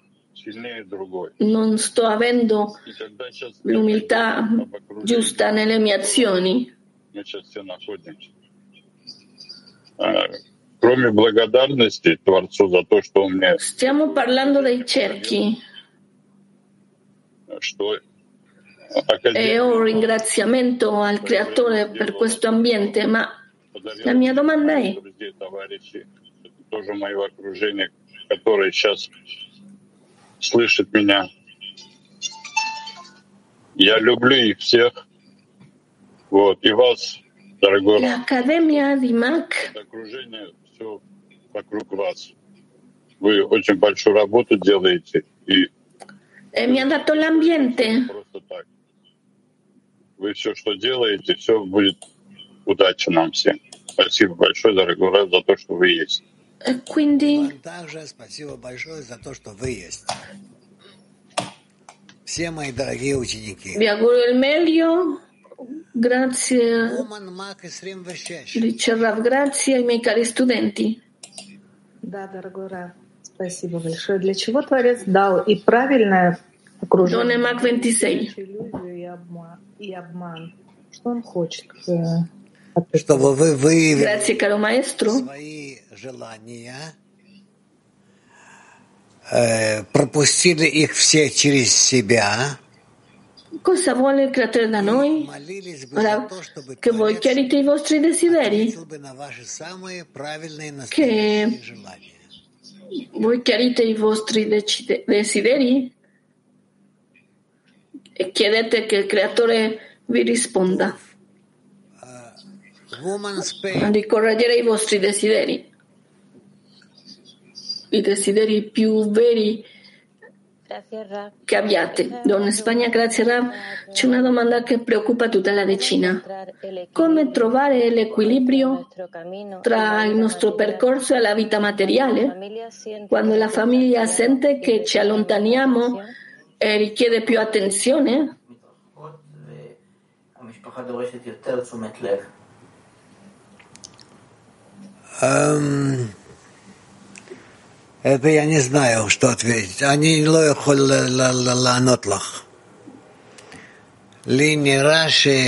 [SPEAKER 1] non sto avendo l'umiltà giusta nelle mie azioni. Stiamo parlando dei cerchi. E ho un ringraziamento al Creatore per questo ambiente, ma la mia domanda è: l'Accademia di Mac e mi ha dato l'ambiente.
[SPEAKER 12] Вы все, что делаете, все будет удача нам всем. Спасибо большое, дорогой Рэб, за то, что вы есть.
[SPEAKER 1] E quindi
[SPEAKER 4] спасибо большое за то, что вы есть. Все мои дорогие ученики.
[SPEAKER 1] Vi auguro il meglio. Grazie. Dice Rav, grazie ai miei cari studenti.
[SPEAKER 13] Да, дорогой Рэб.
[SPEAKER 5] Спасибо большое. Для чего Творец дал и правильное окружение,
[SPEAKER 1] Don Mac 26.
[SPEAKER 5] и обман? Что он хочет?
[SPEAKER 4] Чтобы вы выявили
[SPEAKER 1] Grazie, caro maestro.
[SPEAKER 4] свои желания, пропустили их все через себя.
[SPEAKER 1] Cosa vuole il creatore da noi? Che voi chiarite i vostri desideri? Che voi chiarite i vostri desideri? E chiedete che il creatore vi risponda. Di correggere i vostri desideri. I desideri più veri che abbiate. Donna Spagna, grazie Rav. C'è una domanda che preoccupa tutta la decina. Come trovare l'equilibrio tra il nostro percorso e la vita materiale? Quando la famiglia sente che ci allontaniamo e richiede più attenzione?
[SPEAKER 4] Это я не знаю, что ответить. אני לא יכול לענות לך. לי נראה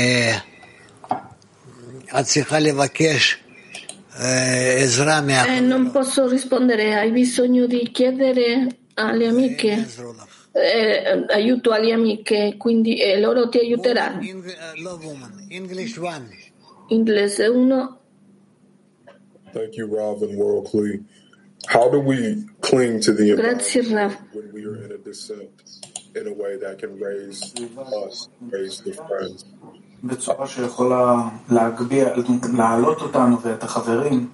[SPEAKER 4] שאת צריכה לבקש עזרה מאחרים.
[SPEAKER 1] Non posso rispondere, hai bisogno di chiedere alle amiche aiuto alle amiche, quindi loro ti aiuteranno.
[SPEAKER 4] English 1.
[SPEAKER 1] Inglese 1.
[SPEAKER 13] Thank you, Rav and World Kli. How do we cling to the environment when we are in a descent in a way that can raise us, raise the friends?
[SPEAKER 14] בצורה שיכולה להעלות אותנו ואת החברים.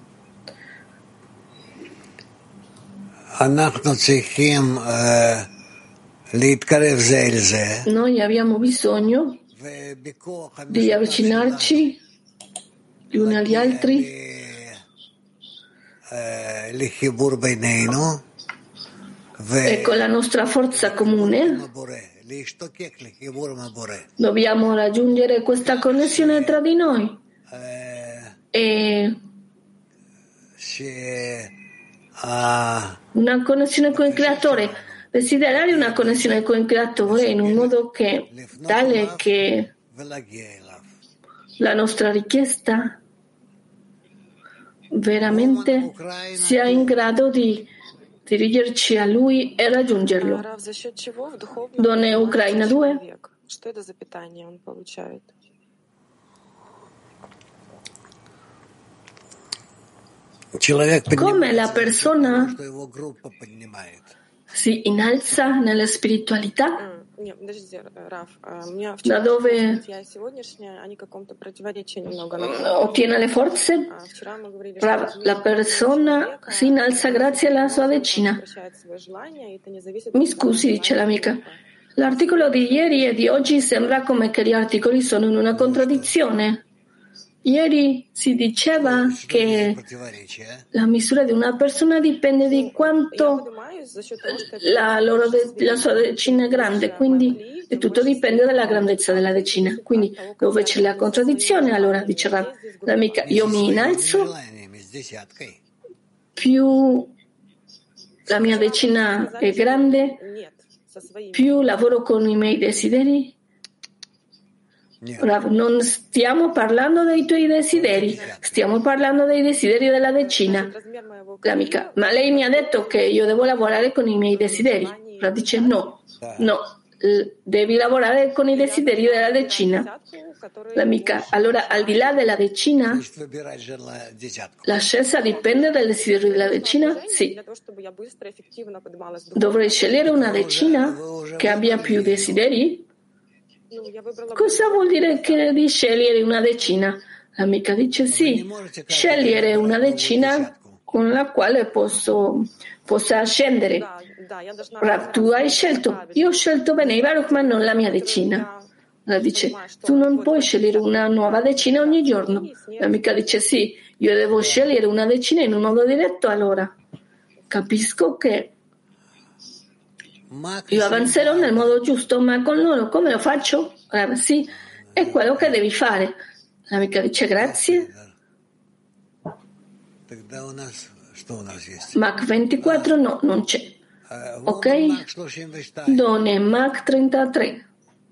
[SPEAKER 4] אנחנו צריכים להתקרב זה אל זה.
[SPEAKER 1] Noi abbiamo bisogno di avvicinarci gli uni agli altri. E con la nostra forza comune dobbiamo raggiungere questa connessione tra di noi e una connessione con il Creatore, desiderare una connessione con il Creatore in un modo tale che la nostra richiesta veramente sia in grado di dirigerci a Lui e raggiungerlo. Donne Ucraina 2. Come la persona si innalza nella spiritualità? Da dove ottiene le forze? La persona si innalza grazie alla sua decina. Mi scusi, dice l'amica. L'articolo di ieri e di oggi sembra come che gli articoli sono in una contraddizione. Ieri si diceva che la misura di una persona dipende di quanto la sua decina è grande, quindi tutto dipende dalla grandezza della decina. Quindi dove c'è la contraddizione, allora dice l'amica, io mi innalzo, più la mia decina è grande, più lavoro con i miei desideri. Rav, non stiamo parlando dei tuoi desideri, stiamo parlando dei desideri della decina. L'amica, ma lei mi ha detto che io devo lavorare con i miei desideri. Rav dice no, devi lavorare con i desideri della decina. L'amica, allora al di là della decina, la scelta dipende dal desiderio della decina? Sì. Dovrei scegliere una decina che abbia più desideri? Cosa vuol dire di scegliere una decina? L'amica dice sì, scegliere una decina con la quale possa ascendere. Rav, tu hai scelto, io ho scelto Bnei Baruch, ma non la mia decina. Rav dice, tu non puoi scegliere una nuova decina ogni giorno. L'amica dice sì, io devo scegliere una decina in un modo diretto, allora capisco che io avanzerò nel modo giusto, ma con loro come lo faccio? Sì, è quello che devi fare. L'amica dice grazie. Mach 24 no, non c'è. Ok? Done Mach 33.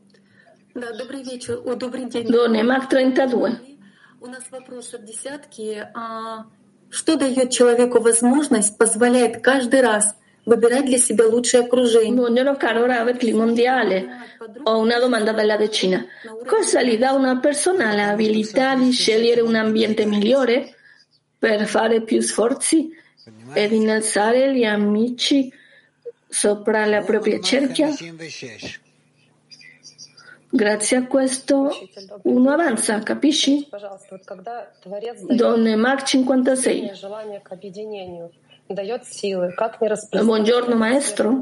[SPEAKER 1] Done Mach 32.
[SPEAKER 15] У нас вопрос от десятки. Что дает человеку возможность, позволяет каждый раз выбирать для себя лучшее окружение?
[SPEAKER 1] Buongiorno caro Rav Mondiale. Ho una domanda dalla decina. Cosa gli dà una persona l'abilità di scegliere un ambiente migliore per fare più sforzi ed innalzare gli amici sopra la propria cerchia? Grazie a questo uno avanza, capisci? Donne Mach 56. Buongiorno maestro.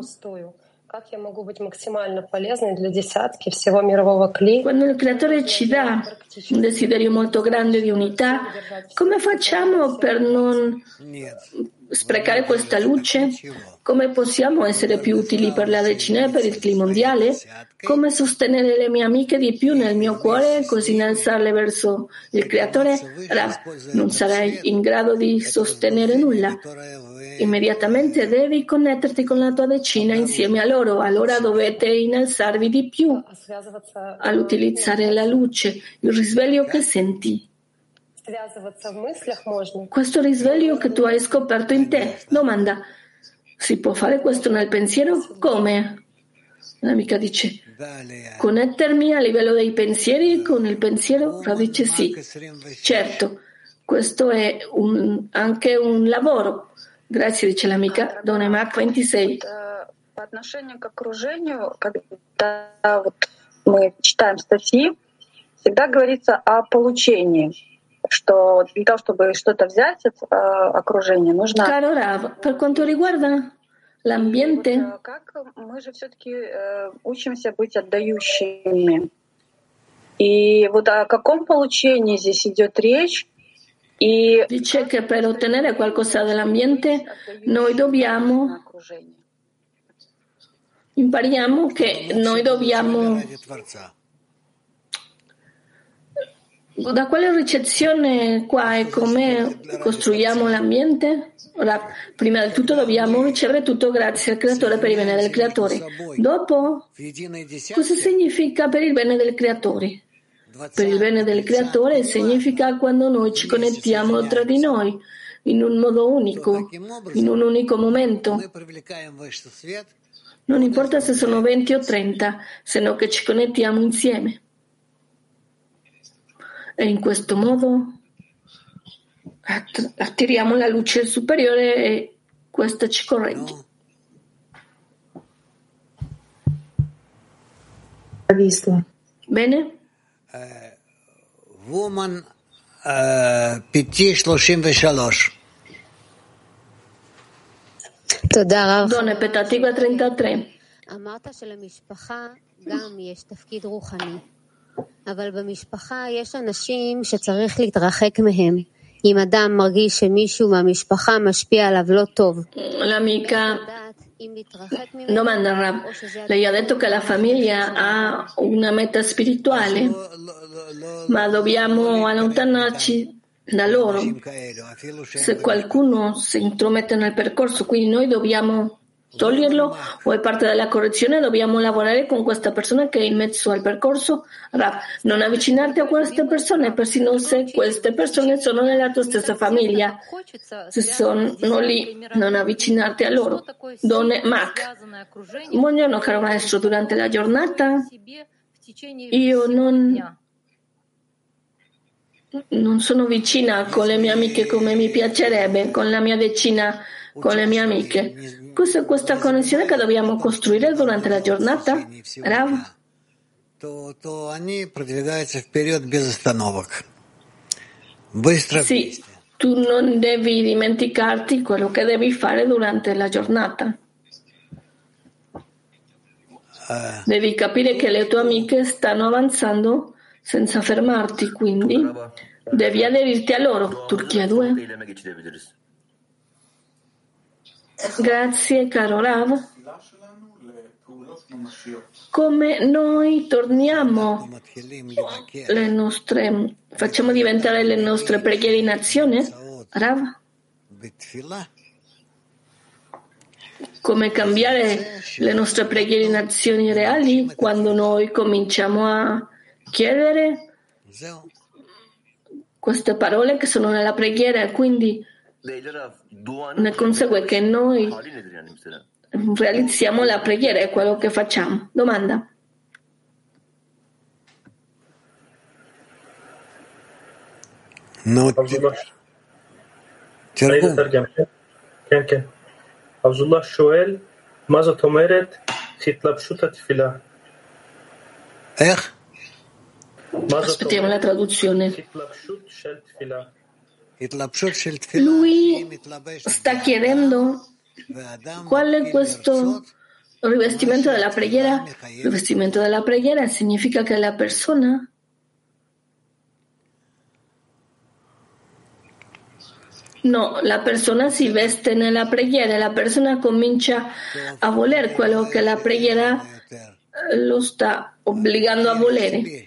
[SPEAKER 1] Quando il creatore ci dà un desiderio molto grande di unità, come facciamo per non sprecare questa luce? Come possiamo essere più utili per la decina e per il clima mondiale? Come sostenere le mie amiche di più nel mio cuore, così innalzarle verso il creatore? Non sarai in grado di sostenere nulla. Immediatamente devi connetterti con la tua decina insieme a loro, allora dovete innalzarvi di più all'utilizzare la luce, il risveglio che senti. Questo risveglio che tu hai scoperto in te. Domanda: si può fare questo nel pensiero? Come? L'amica dice: connettermi a livello dei pensieri con il pensiero? Rav dice sì. Certo, questo è anche un lavoro. Grazie, dice l'amica. Done Mach 26.
[SPEAKER 16] По отношению к окружению, когда мы читаем статьи, всегда говорится о получении, что для того, чтобы что-то взять от окружения, нужно...
[SPEAKER 1] Caro Rav, per quanto riguarda l'ambiente,
[SPEAKER 16] как мы же все-таки учимся быть отдающими. И вот о каком получении здесь идет речь?
[SPEAKER 1] Dice che per ottenere qualcosa dall'ambiente noi impariamo che noi dobbiamo. Da quale ricezione qua e come costruiamo l'ambiente? Ora, prima di tutto dobbiamo ricevere tutto grazie al creatore per il bene del creatore. Dopo, cosa significa per il bene del creatore? Per il bene del creatore significa quando noi ci connettiamo tra di noi in un modo unico, in un unico momento. Non importa se sono 20 o 30, se no che ci connettiamo insieme. E in questo modo attiriamo la luce superiore e questa ci corregge. Bene?
[SPEAKER 4] Woman PT33.
[SPEAKER 1] Donne petativa 33.
[SPEAKER 17] אמרת שלמשפחה גם יש תפקיד רוחני, אבל במשפחה יש אנשים שצריך להתרחק מהם. אם אדם מרגיש שמישהו מהמשפחה משפיע עליו לא טוב.
[SPEAKER 1] L'amica domanda Rav. Lei ha detto che la famiglia ha una meta spirituale, ma dobbiamo allontanarci da loro. Se qualcuno si intromette nel percorso, quindi noi dobbiamo toglierlo o è parte della correzione, dobbiamo lavorare con questa persona che è in mezzo al percorso. Rav, non avvicinarti a queste persone, persino se queste persone sono nella tua stessa famiglia. Se sono lì, non avvicinarti a loro. Donne Mach. Buongiorno caro maestro, durante la giornata io non sono vicina con le mie amiche come mi piacerebbe, con la mia decina, con le mie amiche. Cos'è questa connessione che dobbiamo costruire durante la giornata? Rav? Sì, tu non devi dimenticarti quello che devi fare durante la giornata. Devi capire che le tue amiche stanno avanzando senza fermarti, quindi devi aderirti a loro. Turchia 2. Grazie caro Rav. Come noi torniamo facciamo diventare le nostre preghiere in azione? Rav? come cambiare le nostre preghiere in azioni reali quando noi cominciamo a chiedere queste parole che sono nella preghiera, e quindi ne consegue che noi realizziamo la preghiera, è quello che facciamo. Domanda?
[SPEAKER 4] No.
[SPEAKER 18] עבדולlah שואל, מה זאת אומרת התלבשות התפילה?
[SPEAKER 4] איך?
[SPEAKER 1] Aspettiamo la traduzione. Lui sta chiedendo qual è questo rivestimento della preghiera. Il rivestimento della preghiera significa che la persona si veste nella preghiera e la persona comincia a voler quello che la preghiera lo sta obbligando a volere.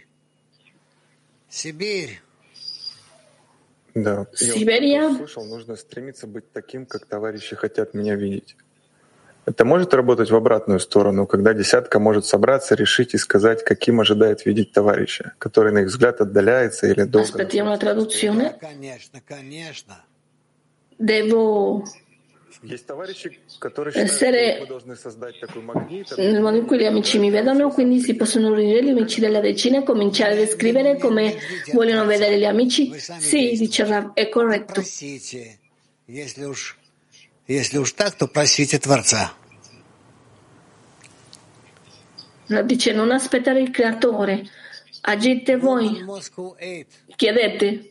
[SPEAKER 19] Да,
[SPEAKER 1] Сибирия.
[SPEAKER 19] Я услышал, нужно стремиться быть таким, как товарищи хотят меня видеть. Это может работать в обратную сторону, когда десятка может собраться, решить и сказать, каким ожидает видеть товарища, который, на их взгляд, отдаляется или долго...
[SPEAKER 1] Aspettiamo la traduzione.
[SPEAKER 4] Конечно.
[SPEAKER 1] Devo essere nel modo in cui gli amici mi vedono, quindi si possono riunire gli amici della decina e cominciare a descrivere come vogliono vedere gli amici? Sì, dice Rav, è corretto. Rav dice non aspettare il creatore, agite voi, chiedete.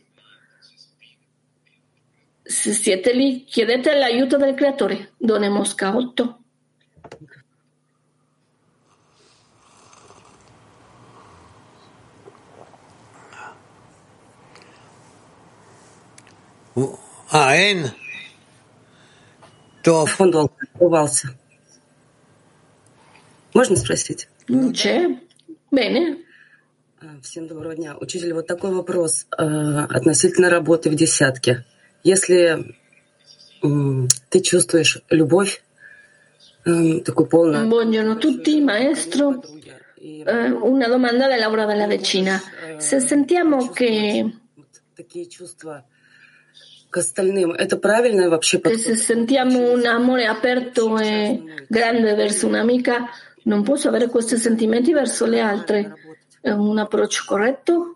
[SPEAKER 1] Se siete lì, chiedete l'aiuto del creatore. Done Mosca 8.
[SPEAKER 4] Эн.
[SPEAKER 20] Он долго открывался. Можно спросить?
[SPEAKER 1] Non c'è? Bene.
[SPEAKER 20] Всем доброго дня. Учитель, вот такой вопрос относительно работы в десятке. Если ты чувствуешь любовь, такую полную...
[SPEAKER 1] Buongiorno a tutti, maestro. Una domanda del lavoro della decina. Se sentiamo che...
[SPEAKER 20] Такие чувства к остальным, это правильно вообще подход?
[SPEAKER 1] Se sentiamo un amore aperto e grande verso un'amica, non posso avere questi sentimenti verso le altre. È un approccio corretto?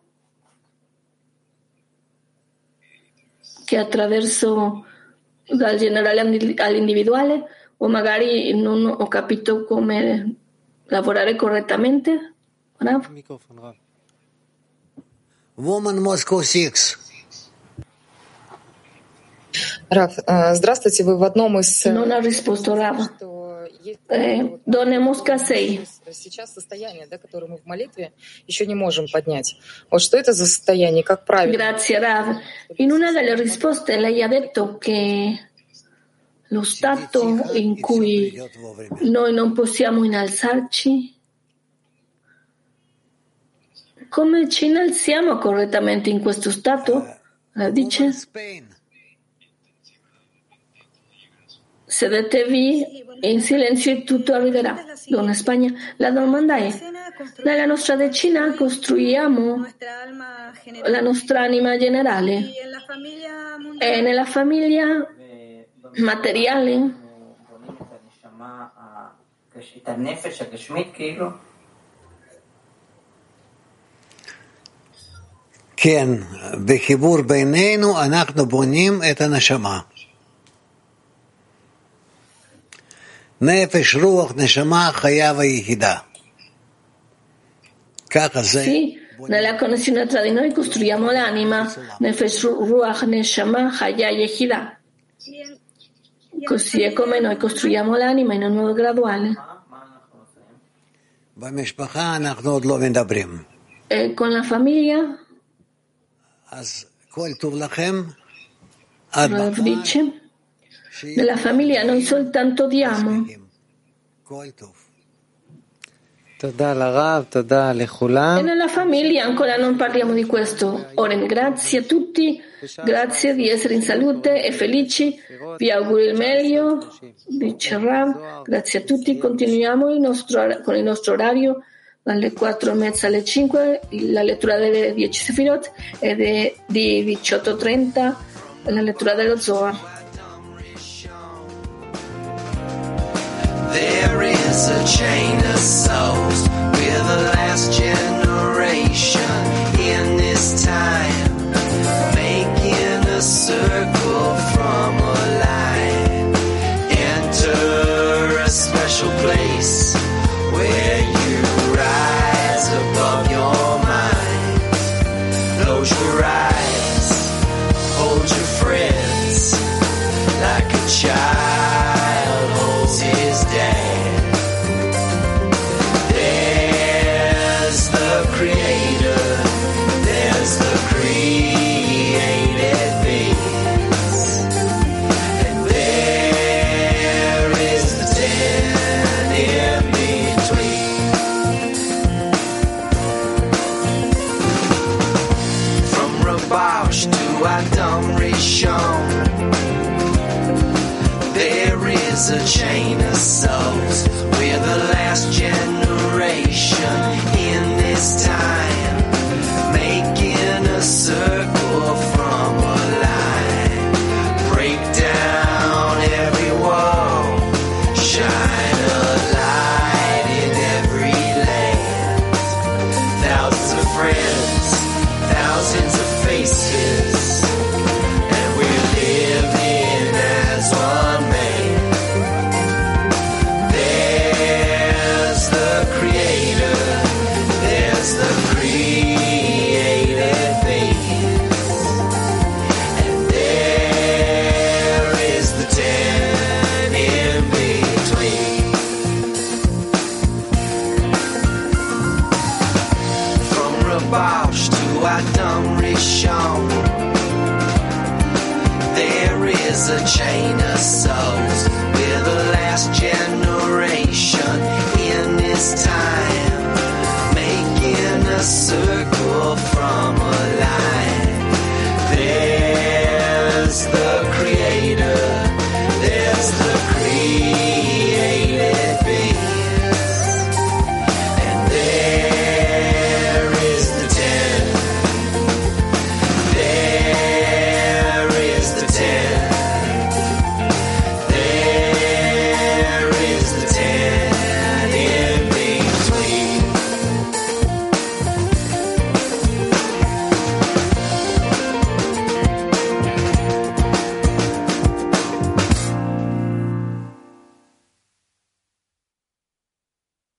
[SPEAKER 1] Che attraverso dal generale all'individuale, o magari non ho capito come lavorare correttamente?
[SPEAKER 4] Woman Moscow 6.
[SPEAKER 21] Раф, здравствуйте, вы в одном из...
[SPEAKER 1] Non ha risposto Rav. Donne Mosca 6.
[SPEAKER 21] Сейчас состояние, да, которое мы в молитве еще не можем поднять. Вот что это за состояние, как правильно?
[SPEAKER 1] Grazie Rav. In una delle risposte lei ha detto che lo stato in cui noi non possiamo innalzarci, come ci innalziamo correttamente in questo stato? Dice, sedetevi in silenzio e tutto arriverà. Donna Spagna, la domanda è, nella nostra decina costruiamo la nostra anima generale e nella famiglia materiale?
[SPEAKER 4] כן, בחיבור בינינו אנחנו בונים את הנשמה. נפש, רוח, נשמה, חיה ויחידה. ככה זה.
[SPEAKER 1] Sì, nella connessione tra di noi costruiamo l'anima, Nefesh, Ruach, Neshama, Chaya e Yehidah. Così è come noi costruiamo l'anima in un modo graduale.
[SPEAKER 4] במשפחה אנחנו עוד לא מדברים.
[SPEAKER 1] E con la famiglia?
[SPEAKER 4] אז כל טוב לכם.
[SPEAKER 1] Rav dice, nella famiglia noi soltanto diamo. E nella famiglia ancora non parliamo di questo. Oren, grazie a tutti, grazie di essere in salute e felici, vi auguro il meglio, dice Rav. Grazie a tutti, continuiamo con il nostro orario dalle 4:30 alle 5, la lettura delle 10 Sefirot e di 18:30 la lettura dello Zohar.
[SPEAKER 2] There is a chain of souls. We're the last generation in this time, making a circle from a line. Enter a special place where you rise above your mind. Close your eyes, hold your friends like a child holds his dad. There's the creator, there's the created beings, and there is the 10 in between. From Rabash to Adam Rishon, there is a chain of souls. We're the last generation in this time, making a circle from a line. Break down every wall, shine a light in every land. Thousands of friends, thousands of faces, and we're living as one man. There's the creator, there's the created beings, and there is the 10 in between. From Rabash to Adam Rishon, there is a chain of souls. We're the last generation in this time, making a circle